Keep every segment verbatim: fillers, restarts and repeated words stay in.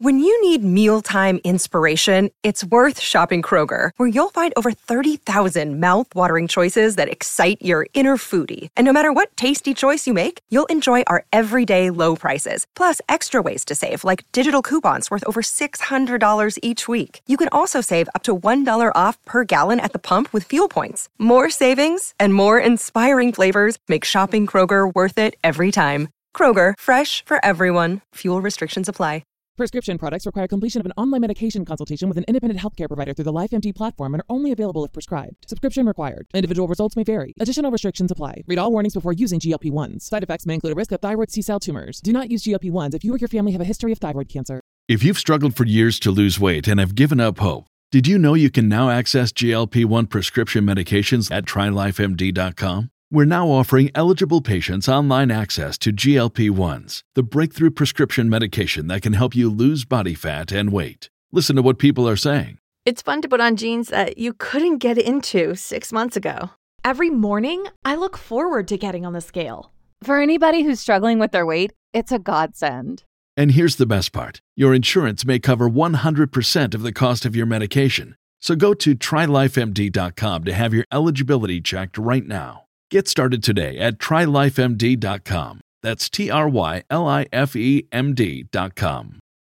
When you need mealtime inspiration, it's worth shopping Kroger, where you'll find over thirty thousand mouth-watering choices that excite your inner foodie. And no matter what tasty choice you make, you'll enjoy our everyday low prices, plus extra ways to save, like digital coupons worth over six hundred dollars each week. You can also save up to one dollar off per gallon at the pump with fuel points. More savings and more inspiring flavors make shopping Kroger worth it every time. Kroger, fresh for everyone. Fuel restrictions apply. Prescription products require completion of an online medication consultation with an independent healthcare provider through the LifeMD platform and are only available if prescribed. Subscription required. Individual results may vary. Additional restrictions apply. Read all warnings before using G L P one s. Side effects may include a risk of thyroid C-cell tumors. Do not use G L P one s if you or your family have a history of thyroid cancer. If you've struggled for years to lose weight and have given up hope, did you know you can now access G L P one prescription medications at try life M D dot com? We're now offering eligible patients online access to G L P one s, the breakthrough prescription medication that can help you lose body fat and weight. Listen to what people are saying. It's fun to put on jeans that you couldn't get into six months ago. Every morning, I look forward to getting on the scale. For anybody who's struggling with their weight, it's a godsend. And here's the best part. Your insurance may cover one hundred percent of the cost of your medication. So go to try life M D dot com to have your eligibility checked right now. Get started today at try life M D dot com. That's T R Y L I F E M D dot com.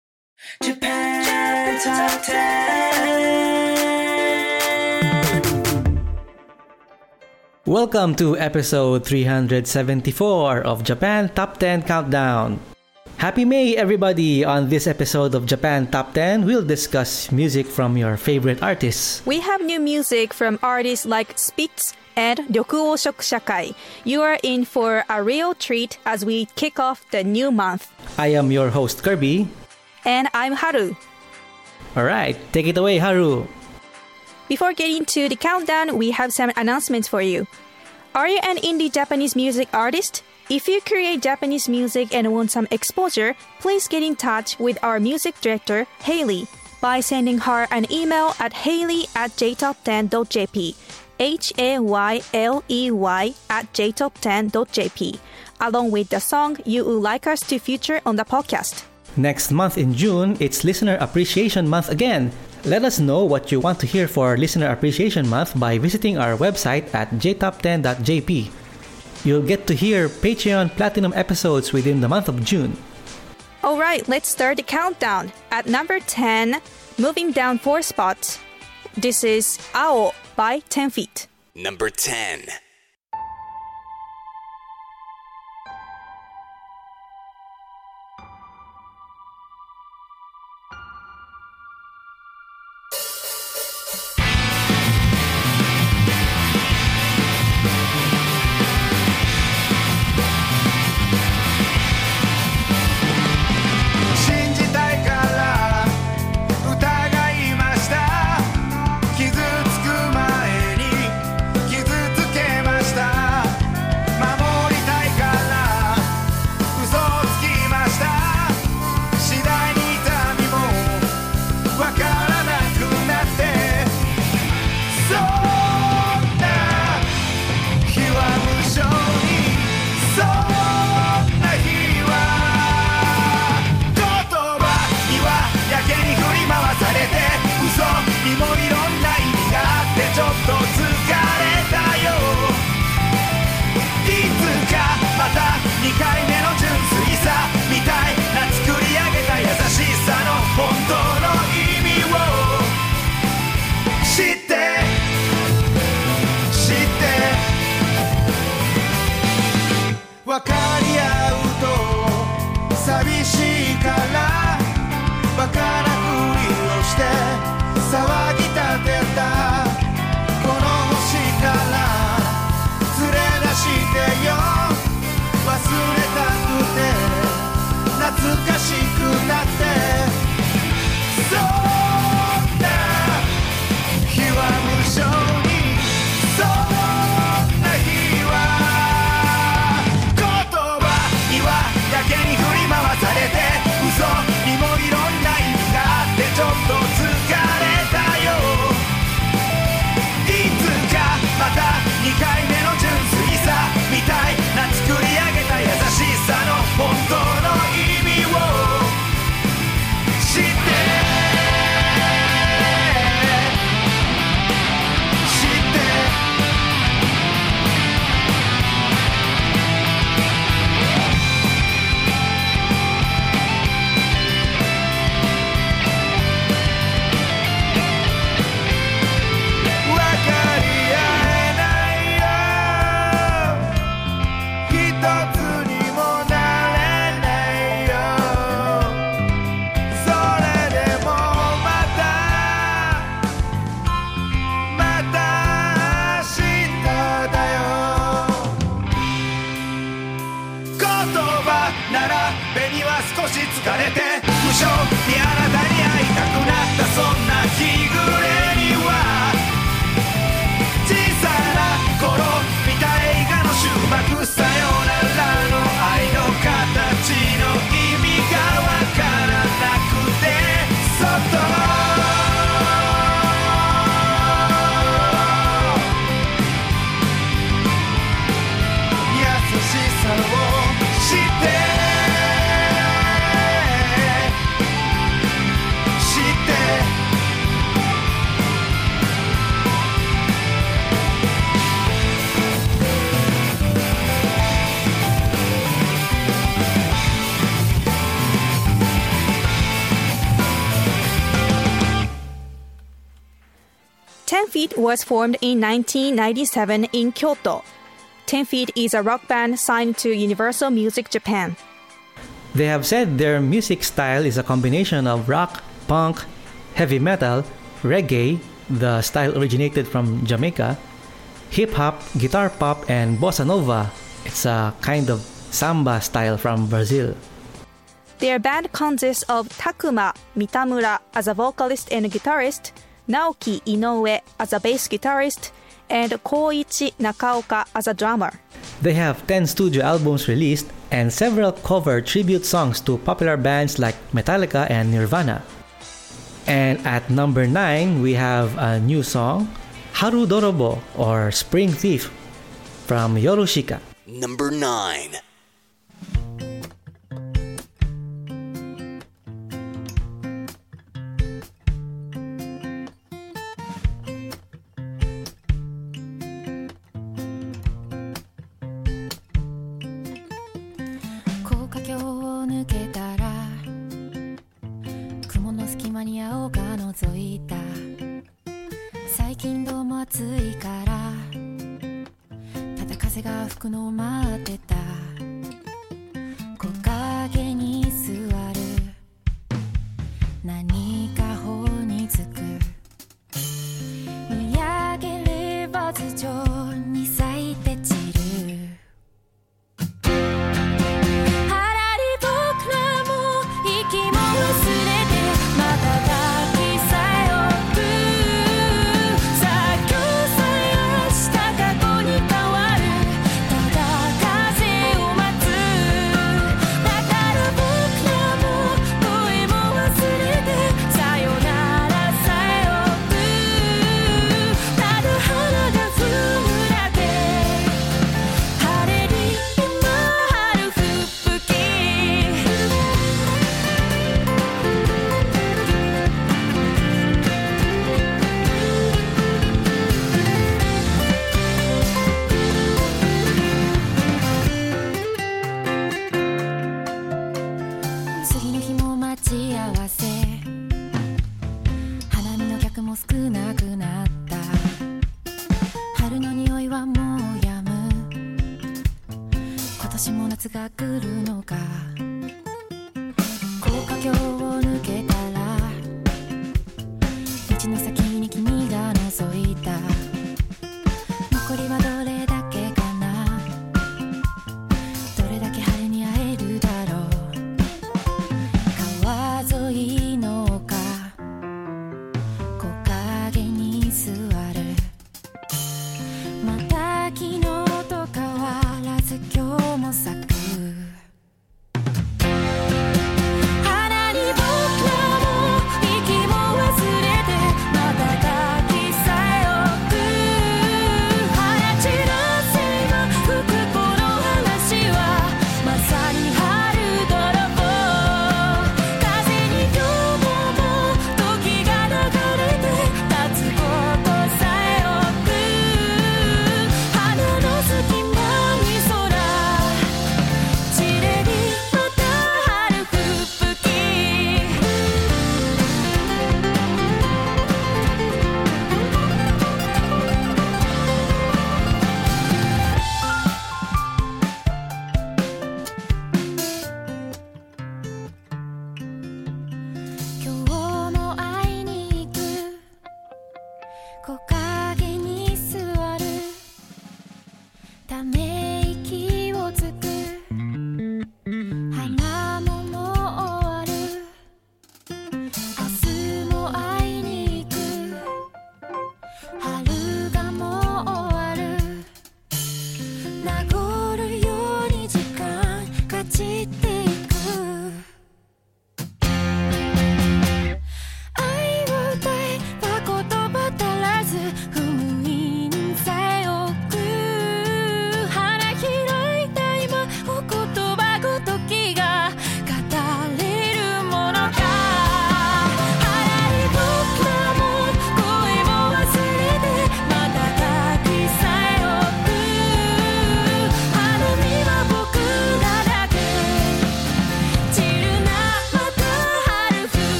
Japan Top ten. Welcome to episode three hundred seventy-four of Japan Top ten Countdown. Happy May, everybody! On this episode of Japan Top ten, we'll discuss music from your favorite artists. We have new music from artists like Spitz and Ryokuo Shokushakai. You are in for a real treat as we kick off the new month. I am your host, Kirby. And I'm Haru. Alright, take it away, Haru. Before getting to the countdown, we have some announcements for you. Are you an indie Japanese music artist? If you create Japanese music and want some exposure, please get in touch with our music director, Hayley, by sending her an email at hayley at j top ten dot j p. H A Y L E Y at j top ten dot j p, along with the song you would like us to feature on the podcast. Next month in June, it's Listener Appreciation Month again. Let us know what you want to hear for Listener Appreciation Month by visiting our website at j top ten dot j p. You'll get to hear Patreon Platinum episodes within the month of June. Alright, let's start the countdown. At number ten, moving down four spots, this is Ao by ten feet. Number ten. Give ten feet was formed in nineteen ninety-seven in Kyoto. ten feet is a rock band signed to Universal Music Japan. They have said their music style is a combination of rock, punk, heavy metal, reggae, the style originated from Jamaica, hip-hop, guitar pop, and bossa nova. It's a kind of samba style from Brazil. Their band consists of Takuma Mitamura as a vocalist and guitarist, Naoki Inoue as a bass guitarist, and Koichi Nakaoka as a drummer. They have ten studio albums released and several cover tribute songs to popular bands like Metallica and Nirvana. And at number nine, we have a new song, Haru Dorobo or Spring Thief from Yorushika. Number nine. さ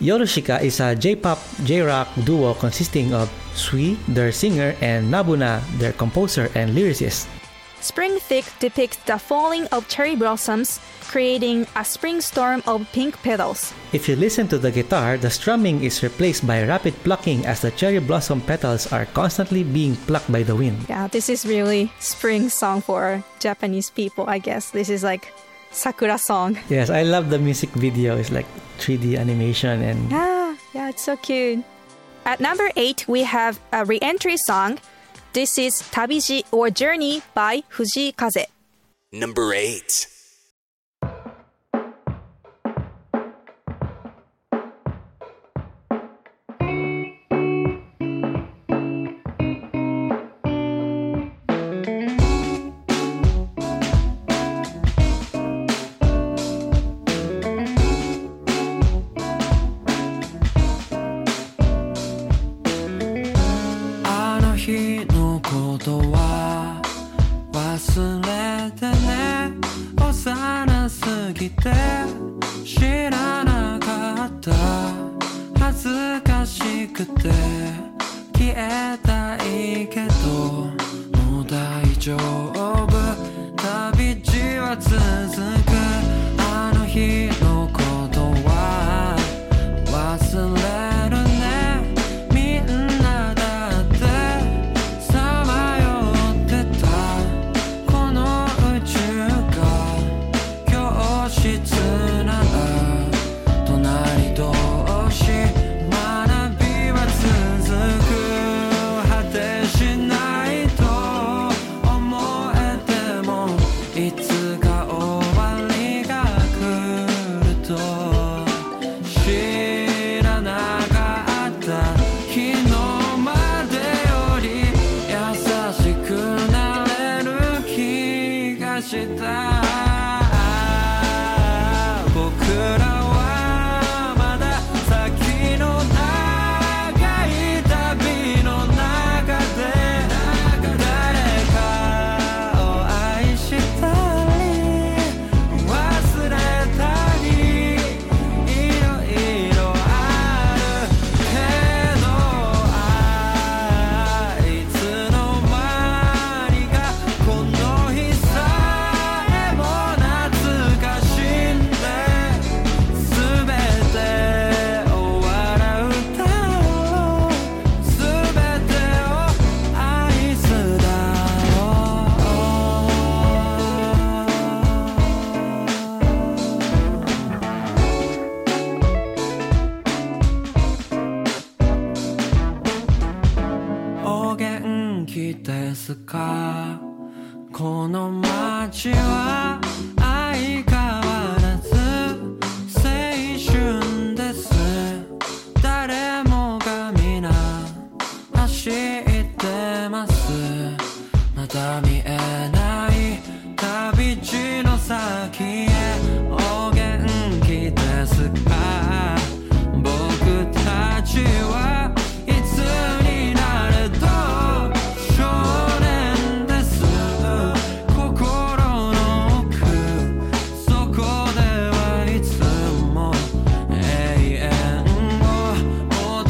Yorushika is a J-pop, J-rock duo consisting of Sui, their singer, and Nabuna, their composer and lyricist. Spring Thick depicts the falling of cherry blossoms, creating a spring storm of pink petals. If you listen to the guitar, the strumming is replaced by rapid plucking as the cherry blossom petals are constantly being plucked by the wind. Yeah, this is really spring song for Japanese people, I guess. This is like Sakura song. Yes, I love the music video. It's like three D animation and... Yeah, yeah, it's so cute. At number eight, we have a re-entry song. This is Tabiji or Journey by Fujii Kaze. Number eight.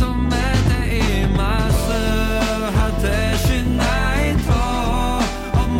「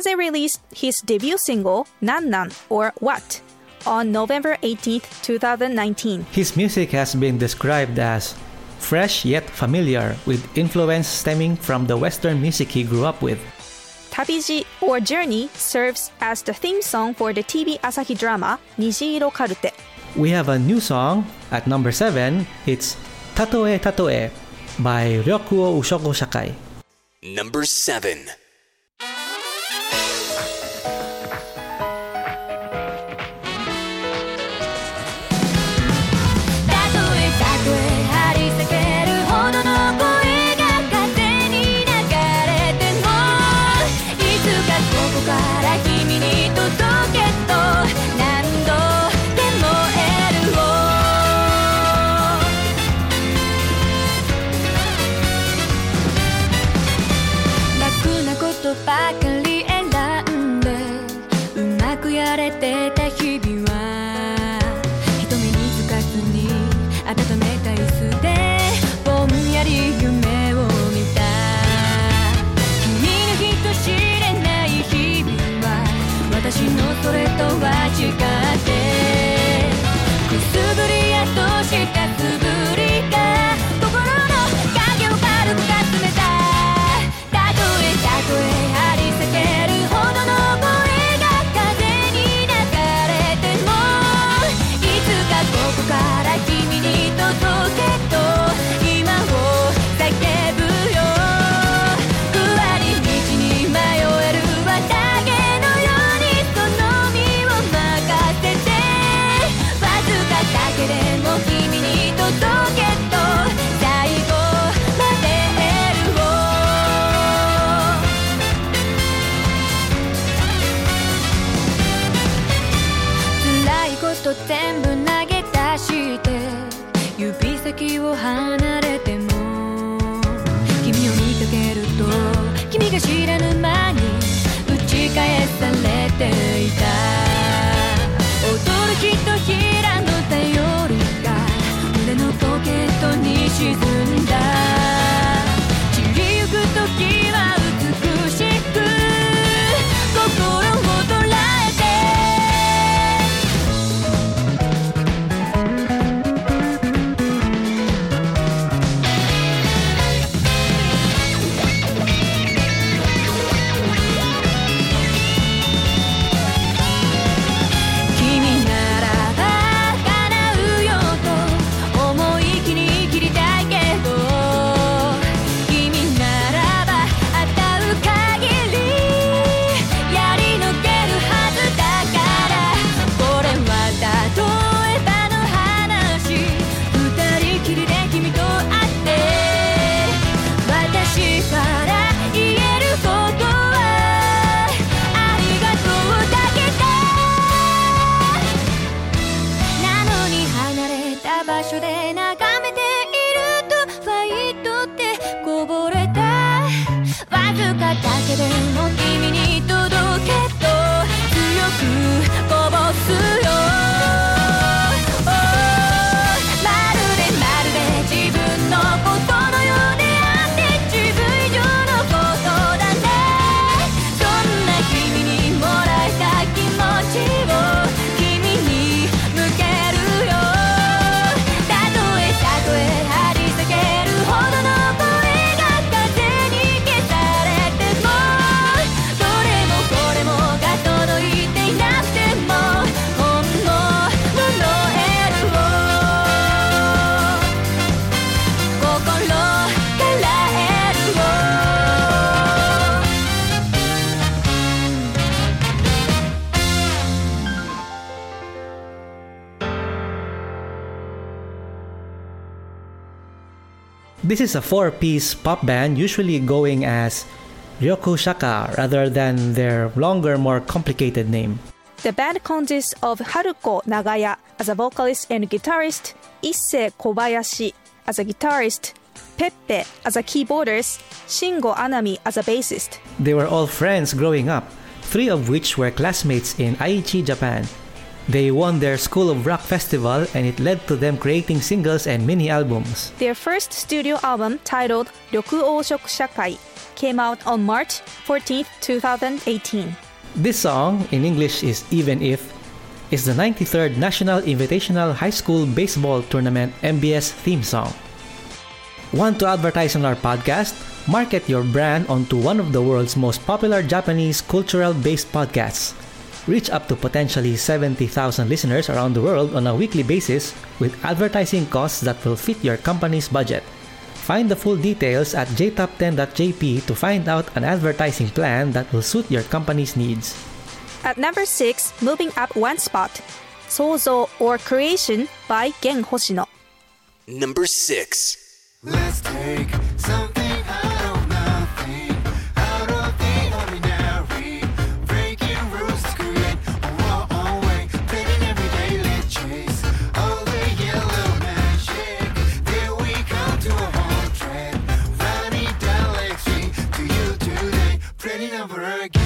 Kaze released his debut single, Nan Nan or What, on November eighteenth, twenty nineteen. His music has been described as fresh yet familiar, with influence stemming from the Western music he grew up with. Tabiji or Journey serves as the theme song for the T V Asahi drama Nijiro Karute. We have a new song at number seven. It's Tatoe Tatoe by Ryokuo Ushoko Shakai. Number seven. 'This is a four-piece pop band usually going as Ryoku Shaka rather than their longer, more complicated name. The band consists of Haruko Nagaya as a vocalist and guitarist, Issei Kobayashi as a guitarist, Peppe as a keyboardist, Shingo Anami as a bassist. They were all friends growing up, three of which were classmates in Aichi, Japan. They won their School of Rock festival and it led to them creating singles and mini albums. Their first studio album, titled Ryokuo Shoku Shakai, came out on March fourteenth, twenty eighteen. This song, in English is Even If, is the ninety-third National Invitational High School Baseball Tournament M B S theme song. Want to advertise on our podcast? Market your brand onto one of the world's most popular Japanese cultural-based podcasts. Reach up to potentially seventy thousand listeners around the world on a weekly basis with advertising costs that will fit your company's budget. Find the full details at j top ten dot j p to find out an advertising plan that will suit your company's needs. At number six, moving up one spot, Souzou or Creation by Gen Hoshino. Number six. Let's take something out of nothing, out of the ordinary, breaking rules to create our own way, playing everyday, let's chase all the yellow magic. There we come to a home track, running down Lake Street to you today, playing over again.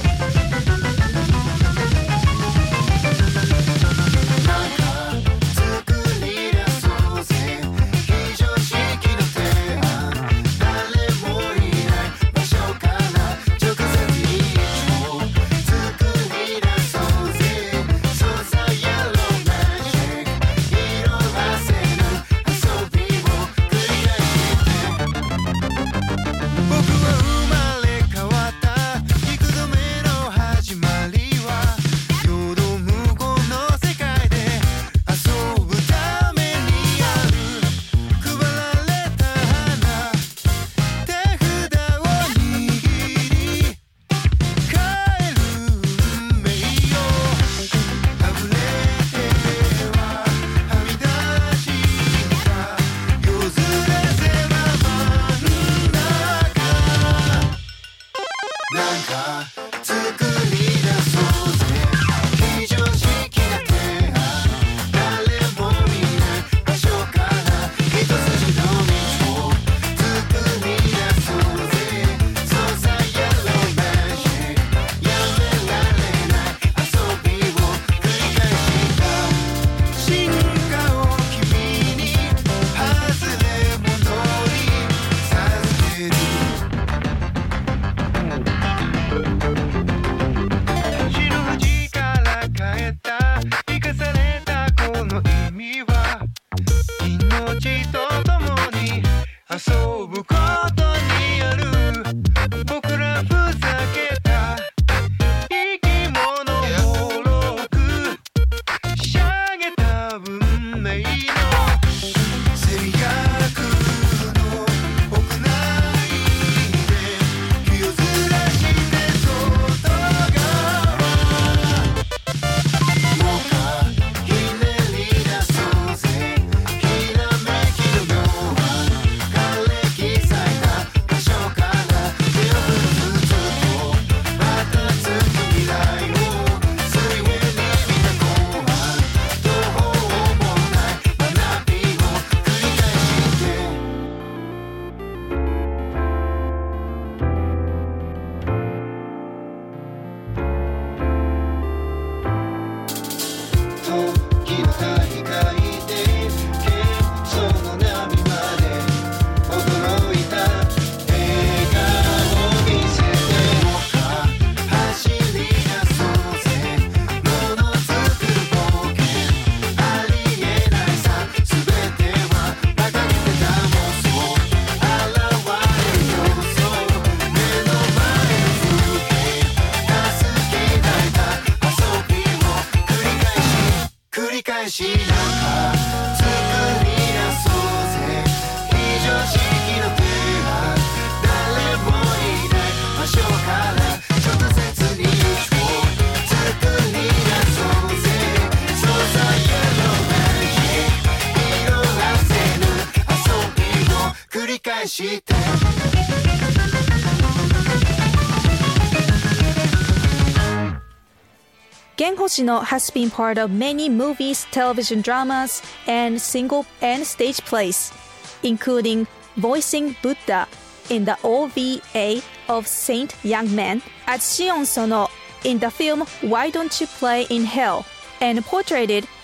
Gen Hoshino has been part of many movies, television dramas, and single and stage plays, including voicing Buddha in the O V A of Saint Young Man, as Shion Sono in the film Why Don't You Play in Hell, and portrayed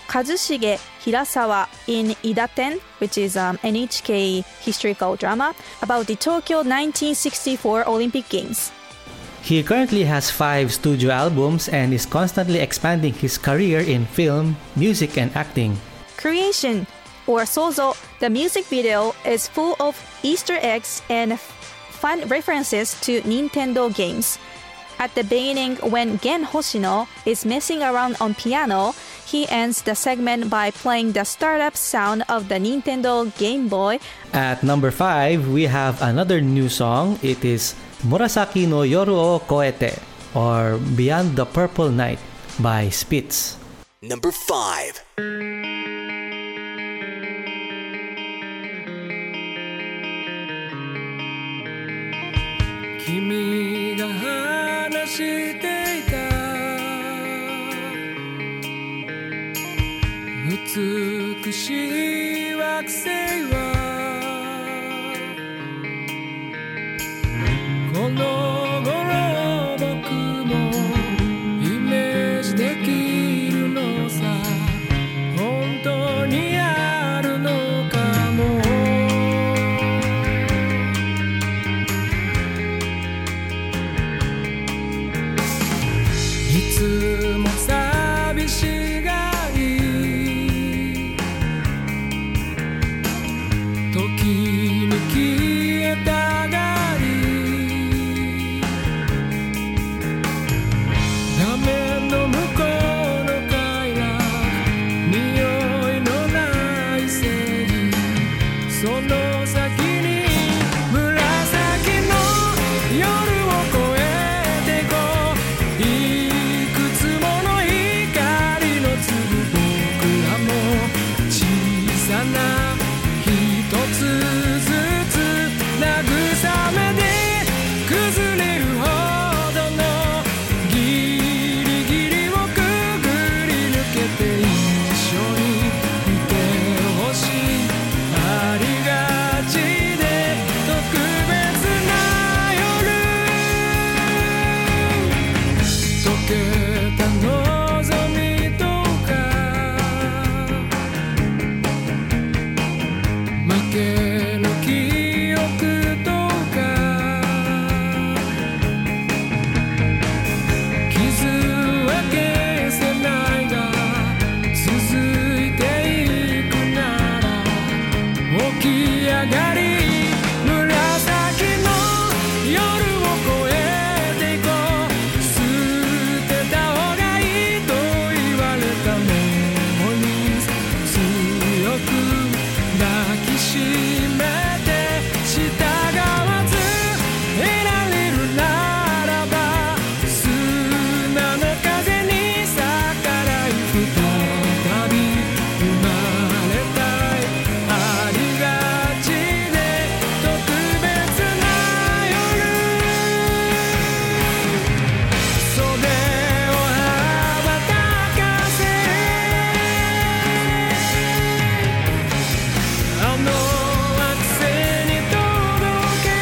Kazushige Hirasawa in Idaten, which is um, N H K historical drama about the Tokyo nineteen sixty-four Olympic Games. He currently has five studio albums and is constantly expanding his career in film, music, and acting. Creation, or Sozo, the music video is full of Easter eggs and fun references to Nintendo games. At the beginning, when Gen Hoshino is messing around on piano, he ends the segment by playing the startup sound of the Nintendo Game Boy. At number five, we have another new song. It is Murasaki no Yoru o Koete, or Beyond the Purple Night by Spitz. Number five. 君が話していた美しい惑星はこの頃僕もイメージできるのさ本当にあるのかもいつも寂しがり時に消えたがり画面の向こうの快楽匂いのない正義その先に紫の夜を越えてこういくつもの光の粒僕らも小さな一つずつ慰めで崩れるほどのギリギリをくぐり抜けて一緒にいてほしいありがちで特別な夜溶けた望みとか負けの記憶とか傷は消せないが続いていくなら起き上がり紫の夜を越えていこう捨てた方がいいと言われたメモリー強く抱きしめて従わず得られるならば砂の風に逆らい再び生まれたいありがちで特別な夜袖を羽ばたかせあの惑星に届け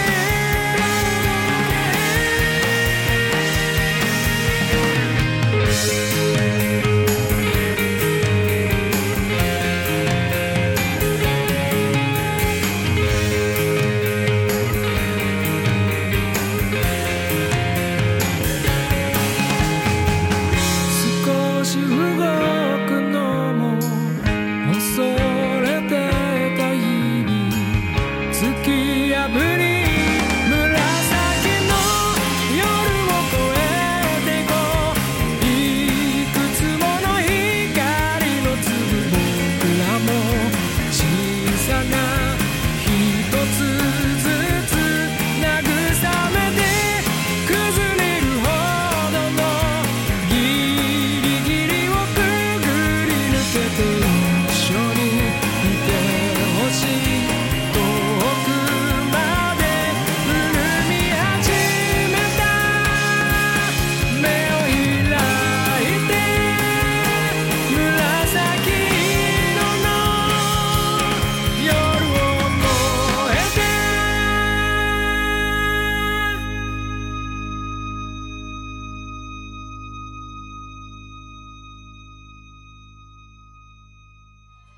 少し動くのも恐れてた日々突き破り紫の夜を越えていこういくつもの光の粒僕らも小さな一つずつ慰めて崩れるほどのギリギリをく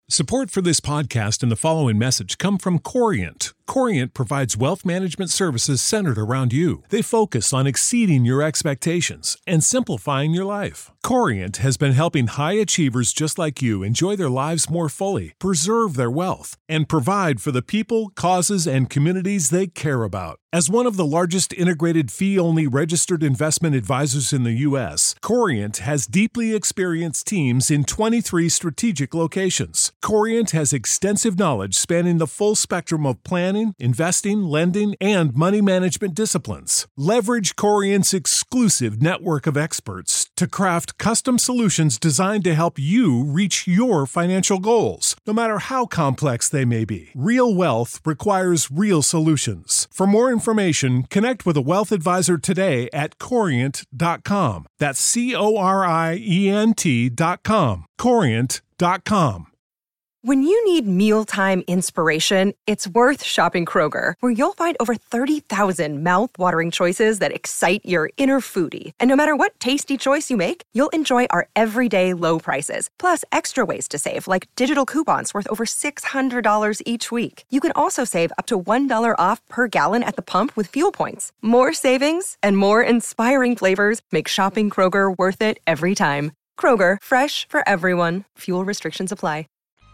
Support for this podcast and the following message come from Corient. Corient provides wealth management services centered around you. They focus on exceeding your expectations and simplifying your life. Corient has been helping high achievers just like you enjoy their lives more fully, preserve their wealth, and provide for the people, causes, and communities they care about. As one of the largest integrated fee-only registered investment advisors in the U S, Corient has deeply experienced teams in twenty-three strategic locations. Corient has extensive knowledge spanning the full spectrum of planning, investing, lending, and money management disciplines. Leverage Corient's exclusive network of experts to craft custom solutions designed to help you reach your financial goals, no matter how complex they may be. Real wealth requires real solutions. For more information, connect with a wealth advisor today at corient dot com. That's C O R I E N T dot com. corient dot com. When you need mealtime inspiration, it's worth shopping Kroger, where you'll find over thirty thousand mouth-watering choices that excite your inner foodie. And no matter what tasty choice you make, you'll enjoy our everyday low prices, plus extra ways to save, like digital coupons worth over six hundred dollars each week. You can also save up to one dollar off per gallon at the pump with fuel points. More savings and more inspiring flavors make shopping Kroger worth it every time. Kroger, fresh for everyone. Fuel restrictions apply.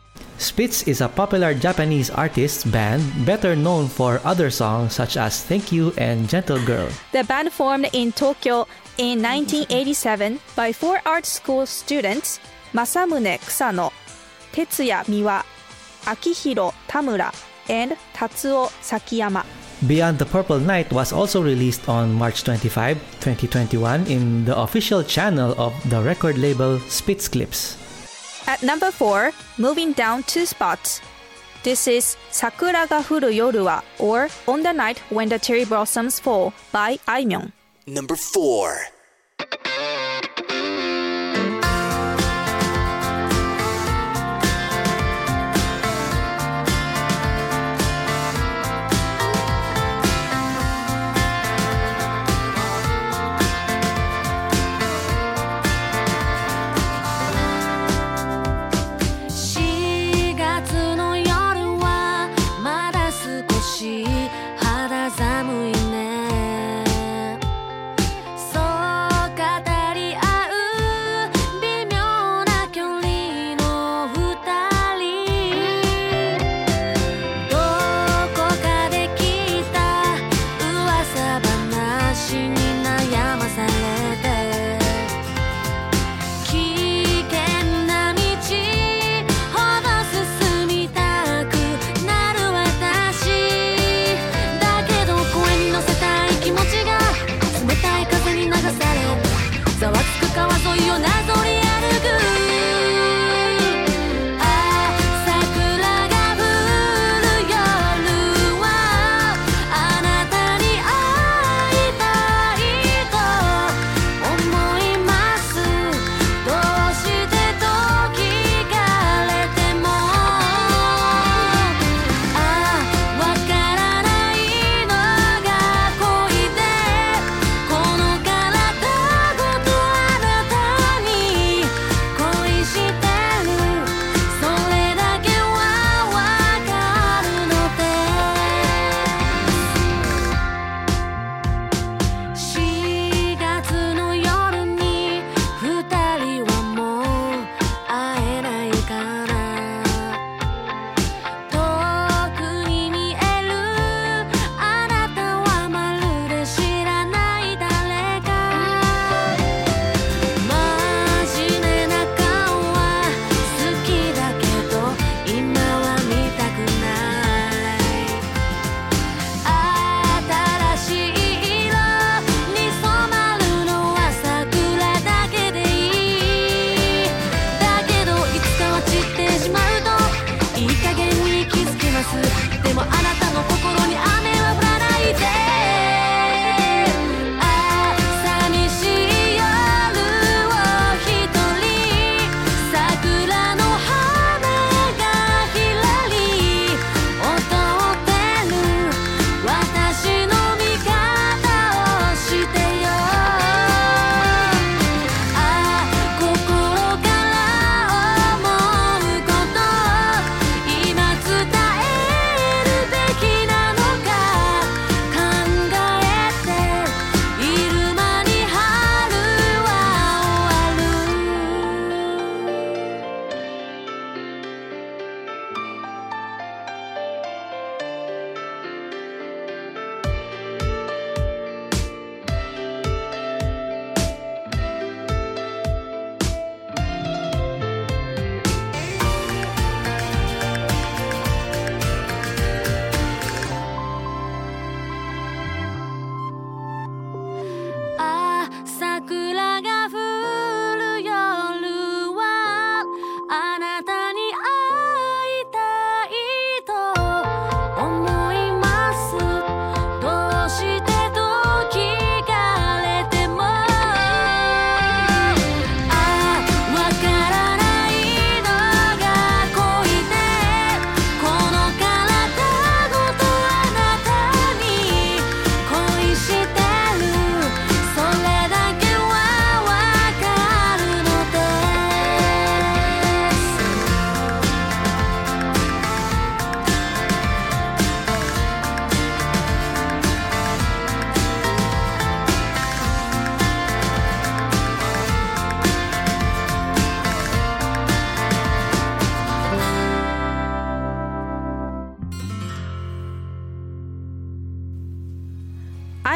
Spitz is a popular Japanese artist band better known for other songs such as Thank You and Gentle Girl. The band formed in Tokyo in nineteen eighty-seven by four art school students, Masamune Kusano, Tetsuya Miwa, Akihiro Tamura, and Tatsuo Sakiyama. Beyond the Purple Night was also released on March twenty-fifth, twenty twenty-one in the official channel of the record label Spitz Clips. At number four, moving down two spots. This is Sakura ga furu yoru wa, or On the Night When the Cherry Blossoms Fall by Aimyon. Number four. 肌寒いね。そう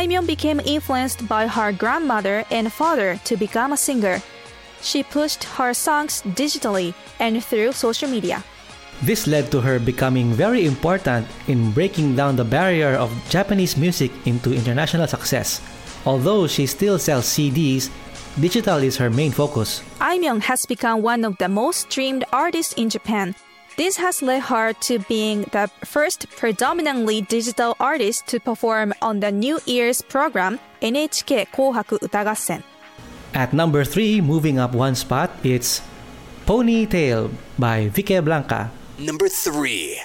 Aimyon became influenced by her grandmother and father to become a singer. She pushed her songs digitally and through social media. This led to her becoming very important in breaking down the barrier of Japanese music into international success. Although she still sells C Ds, digital is her main focus. Aimyon has become one of the most streamed artists in Japan. This has led her to being the first predominantly digital artist to perform on the New Year's program N H K 紅白歌合戦. At number three, moving up one spot, it's Ponytail by Vicky Blanca. Number three.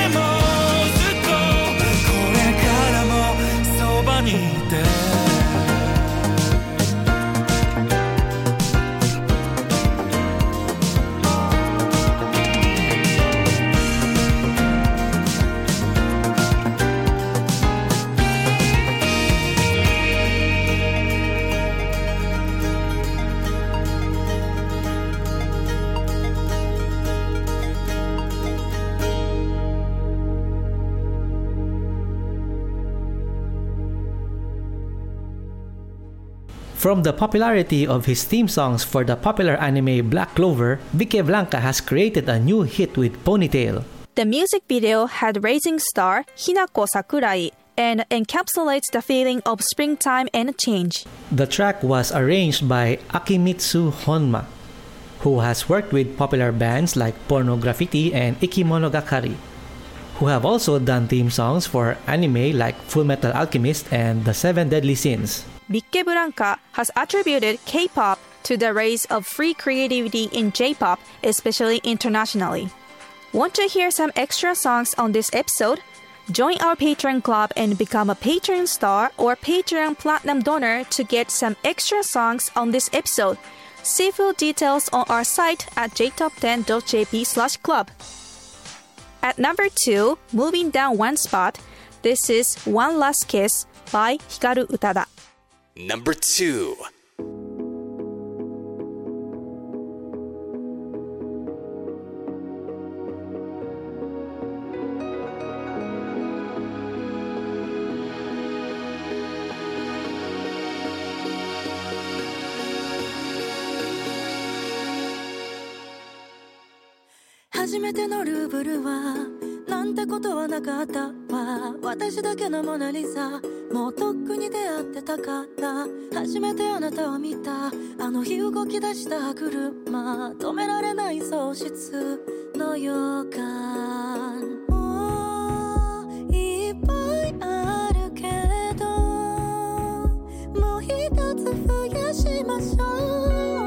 にいて From the popularity of his theme songs for the popular anime Black Clover, Vicky Blanca has created a new hit with Ponytail. The music video had rising star Hinako Sakurai and encapsulates the feeling of springtime and change. The track was arranged by Akimitsu Honma, who has worked with popular bands like Porno Graffiti and Ikimonogatari, who have also done theme songs for anime like Fullmetal Alchemist and The Seven Deadly Sins. Vicky Blanca has attributed K-pop to the rise of free creativity in J-pop, especially internationally. Want to hear some extra songs on this episode? Join our Patreon club and become a Patreon star or Patreon platinum donor to get some extra songs on this episode. See full details on our site at j top ten dot j p slash club. At number two, moving down one spot, this is One Last Kiss by Hikaru Utada. Number two. 初めてのルーブルはなんてことはなかったわ私だけのモナリザもうとっくに出会ってたから初めてあなたを見たあの日動き出した車止められない喪失の予感もういっぱいあるけどもう一つ増やしましょう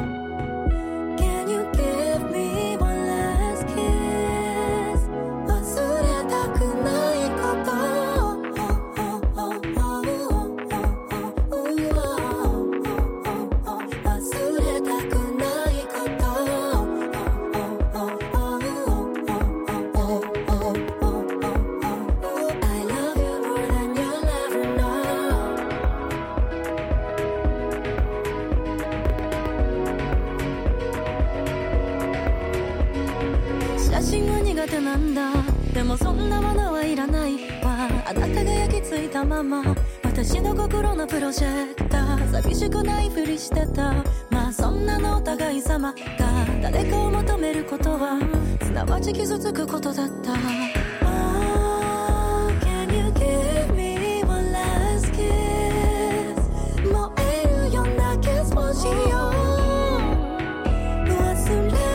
でもそんなものはいらないわあなたが焼き付いたまま私の心のプロジェクター寂しくないふりしてたまあそんなのお互い様が誰かを求めることはすなわち傷つくことだった Oh, can you give me one last kiss 燃えるようなキスもしよう忘れ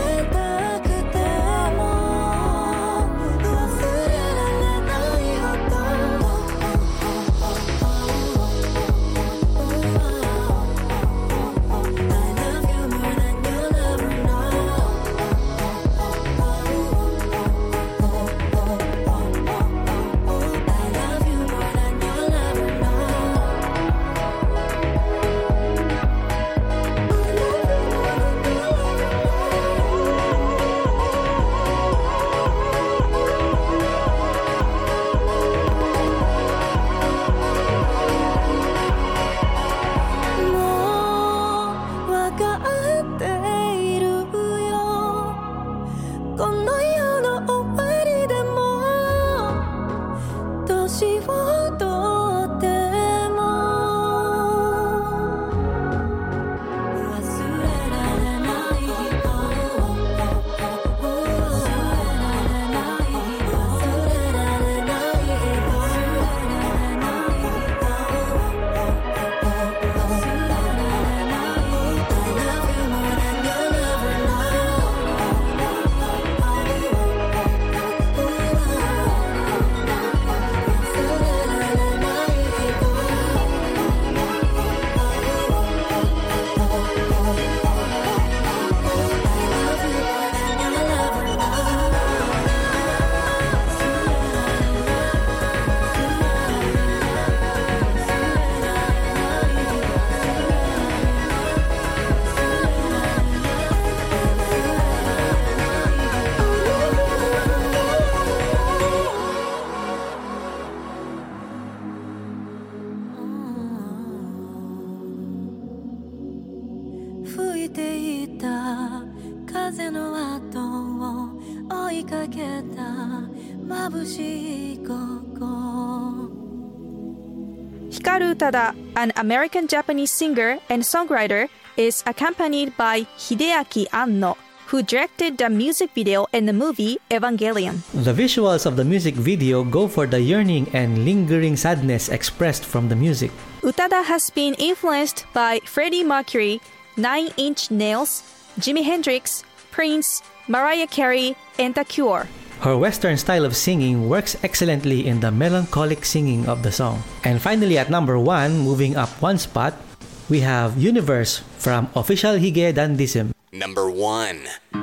Hikaru Utada, an American-Japanese singer and songwriter, is accompanied by Hideaki Anno, who directed the music video in the movie Evangelion. The visuals of the music video go for the yearning and lingering sadness expressed from the music. Utada has been influenced by Freddie Mercury, Nine Inch Nails, Jimi Hendrix, Prince, Mariah Carey, and The Cure. Her Western style of singing works excellently in the melancholic singing of the song. And finally, at number one, moving up one spot, we have Universe from Official Hige Dandism. Number one.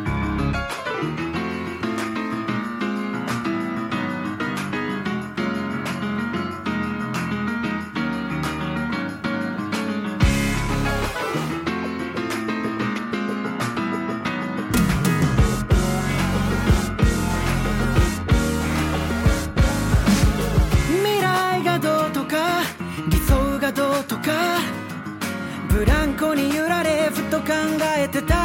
ブランコに揺られふと考えてた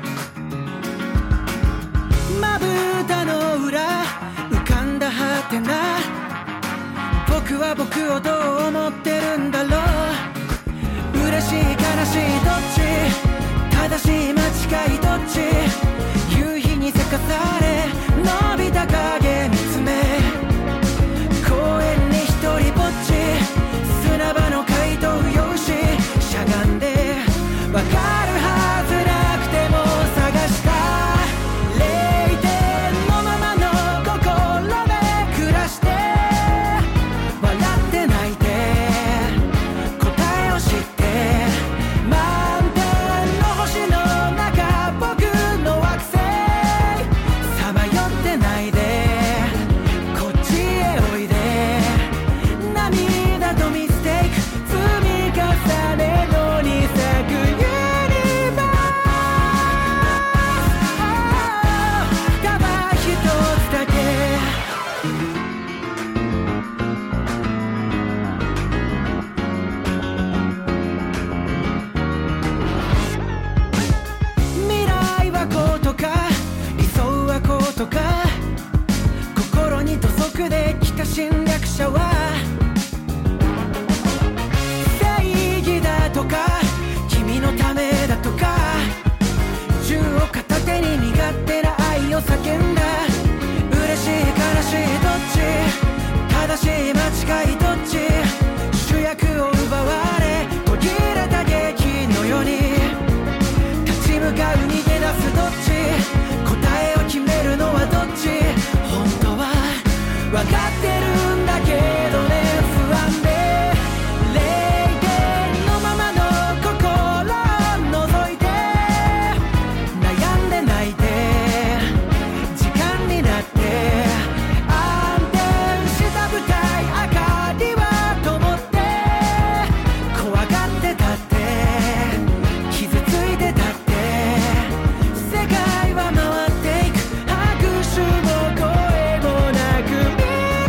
まぶたの裏浮かんだはてな僕は僕をどう思ってるんだろう嬉しい悲しいどっち正しい間違いどっち夕日にせかされ伸びた影見つめ公園に一人ぼっち砂場の怪盗用紙しゃがんでわかるはずなくても探した零点のままの心で暮らして笑って泣いて答えを知って満天の星の中僕の惑星さまよってないでこっちへおいで涙とミステイク積み重ねのに咲くユニバースただ一つだけ未来はこうとか理想はこうとか心に土足で来た侵略者は正義だとか君のためだとか銃を片手に身勝手な愛を叫んだ嬉しい悲しいどっち正しい間違いどっち主役を奪われ途切れた劇のように立ち向かう逃げ出すどっち答えを決めるのはどっち本当は分かってるんだけどね不安で零点のままの心覗いて悩んで泣いて時間になって安定した舞台明かりは灯って怖がってたって傷ついてたって世界は回っていく拍手も声もなく未来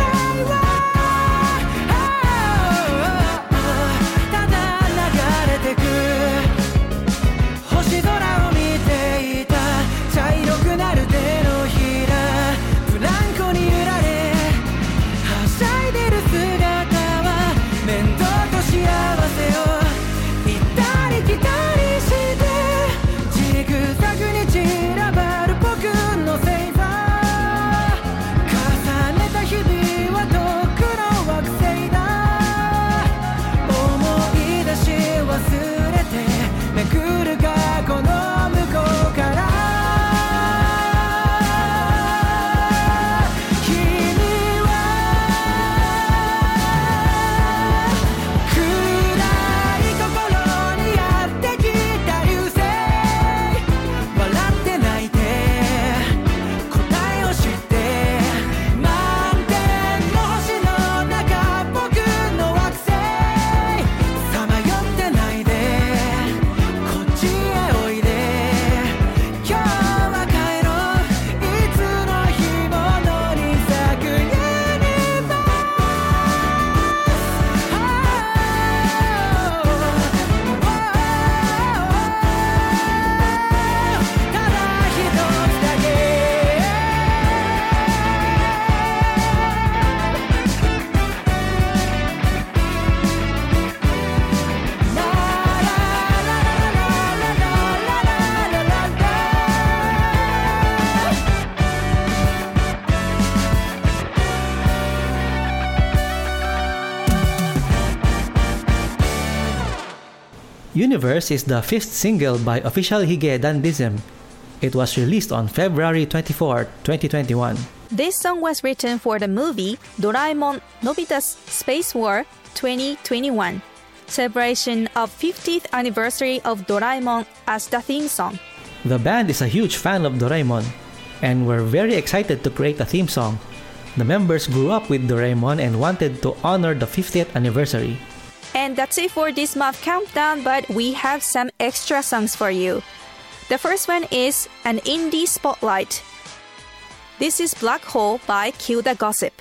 Universe is the fifth single by Official Hige Dandism. It was released on February twenty-fourth, twenty twenty-one. This song was written for the movie Doraemon Nobita's Space War twenty twenty-one, celebration of fiftieth anniversary of Doraemon as the theme song. The band is a huge fan of Doraemon, and were very excited to create a theme song. The members grew up with Doraemon and wanted to honor the fiftieth anniversary. And that's it for this month countdown, but we have some extra songs for you. The first one is an indie spotlight. This is Black Hole by Kill the Gossip.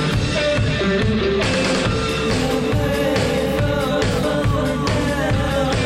We'll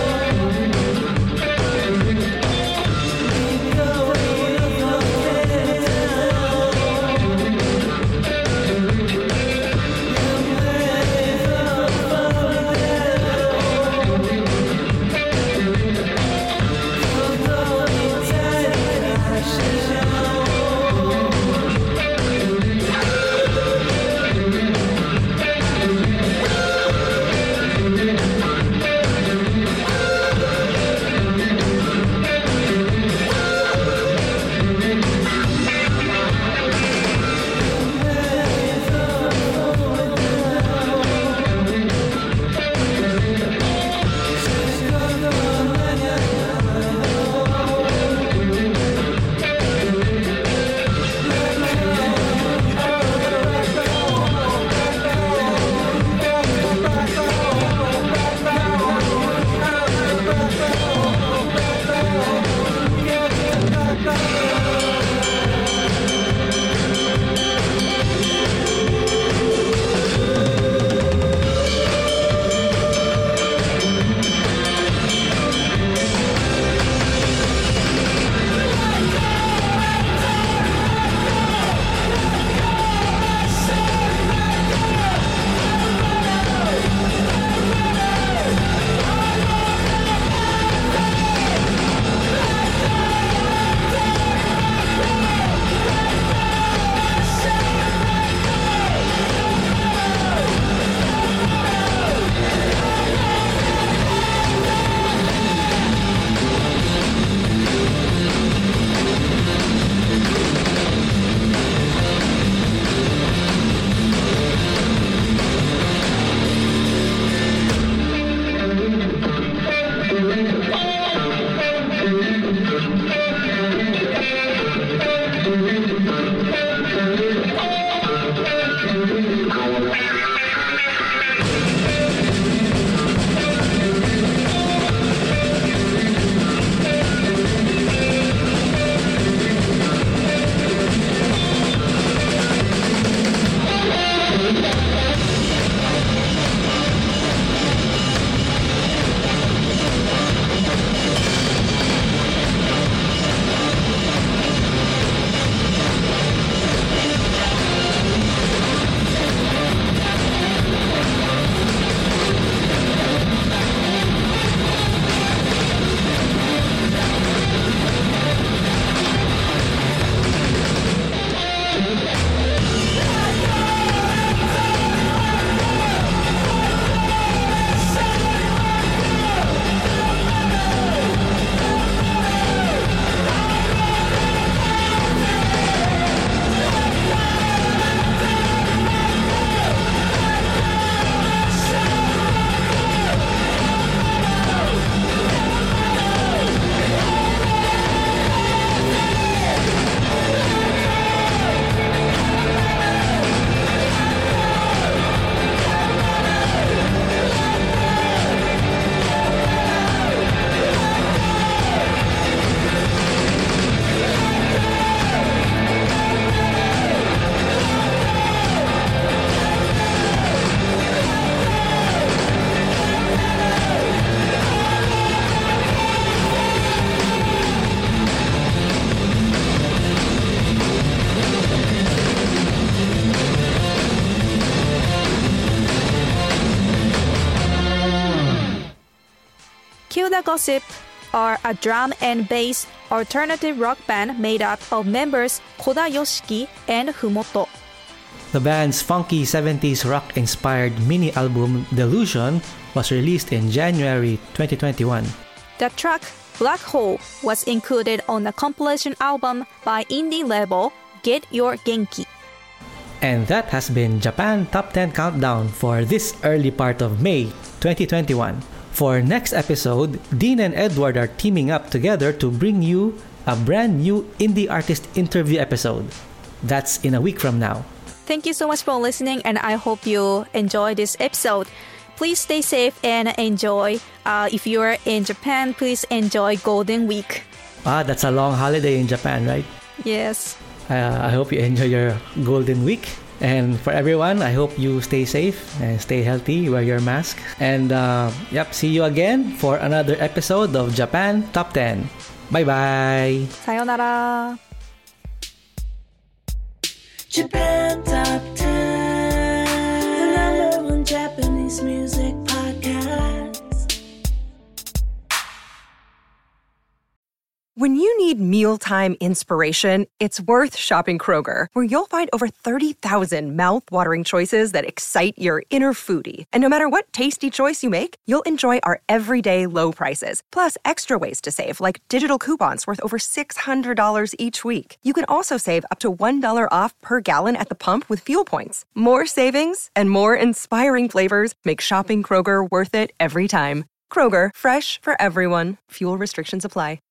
Spill the Gossip are a drum and bass alternative rock band made up of members Koda Yoshiki and Fumoto. The band's funky seventies rock-inspired mini-album Delusion was released in January twenty twenty-one. The track Black Hole was included on the compilation album by indie label Get Your Genki. And that has been Japan Top ten Countdown for this early part of May twenty twenty-one. For next episode, Dean and Edward are teaming up together to bring you a brand new indie artist interview episode. That's in a week from now. Thank you so much for listening, and I hope you enjoy this episode. Please stay safe and enjoy. Uh, if you're in Japan, please enjoy Golden Week. Ah, that's a long holiday in Japan, right? Yes. Uh, I hope you enjoy your Golden Week. And for everyone, I hope you stay safe and stay healthy, wear your mask. And uh, yep, see you again for another episode of Japan Top ten. Bye-bye. Sayonara. Japan Top ten, the number one Japanese music podcast. When you need mealtime inspiration, it's worth shopping Kroger, where you'll find over thirty thousand mouth-watering choices that excite your inner foodie. And no matter what tasty choice you make, you'll enjoy our everyday low prices, plus extra ways to save, like digital coupons worth over six hundred dollars each week. You can also save up to one dollar off per gallon at the pump with fuel points. More savings and more inspiring flavors make shopping Kroger worth it every time. Kroger, fresh for everyone. Fuel restrictions apply.